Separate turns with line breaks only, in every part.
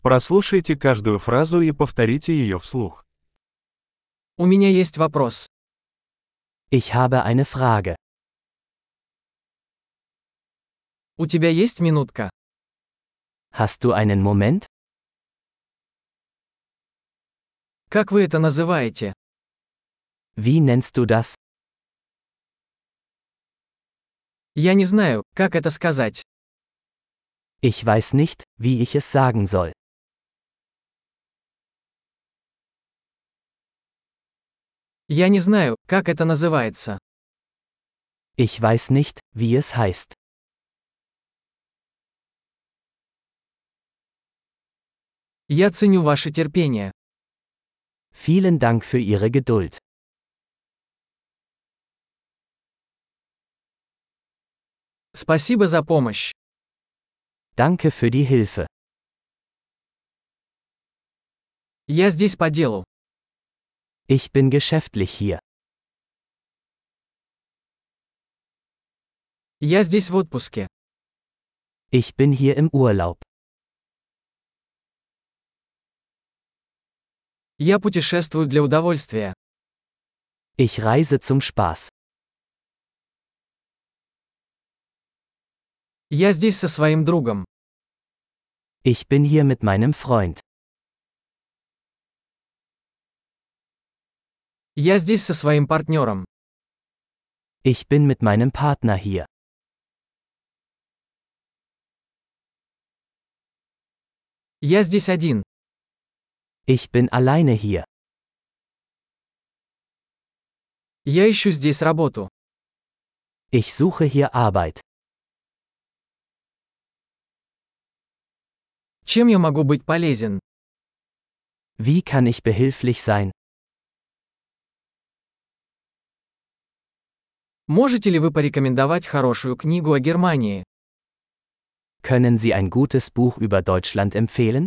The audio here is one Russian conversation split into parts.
Прослушайте каждую фразу и повторите ее вслух.
У меня есть вопрос.
Ich habe eine Frage.
У тебя есть минутка?
Hast du einen Moment?
Как вы это называете?
Wie nennst du das?
Я не знаю, как это сказать.
Ich weiß nicht, wie ich es sagen soll.
Я не знаю, как это называется.
Ich weiß nicht, wie es heißt.
Я ценю ваше терпение.
Vielen Dank für Ihre Geduld.
Спасибо за помощь.
Danke für die Hilfe.
Я здесь по делу.
Ich bin geschäftlich hier.
Я здесь в отпуске.
Ich bin hier im Urlaub.
Я путешествую для удовольствия.
Ich reise zum Spaß.
Я здесь со своим другом.
Ich bin hier mit meinem Freund.
Я здесь со своим партнером.
Ich bin mit meinem Partner hier.
Я здесь один.
Ich bin alleine hier.
Я ищу здесь работу.
Ich suche hier Arbeit.
Чем я могу быть полезен?
Wie kann ich behilflich sein?
Можете ли вы порекомендовать хорошую книгу о Германии?
Können Sie ein gutes Buch über Deutschland empfehlen?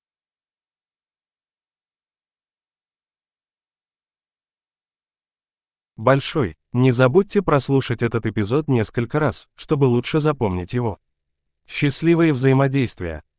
Большой. Не забудьте прослушать этот эпизод несколько раз, чтобы лучше запомнить его. Счастливые взаимодействия!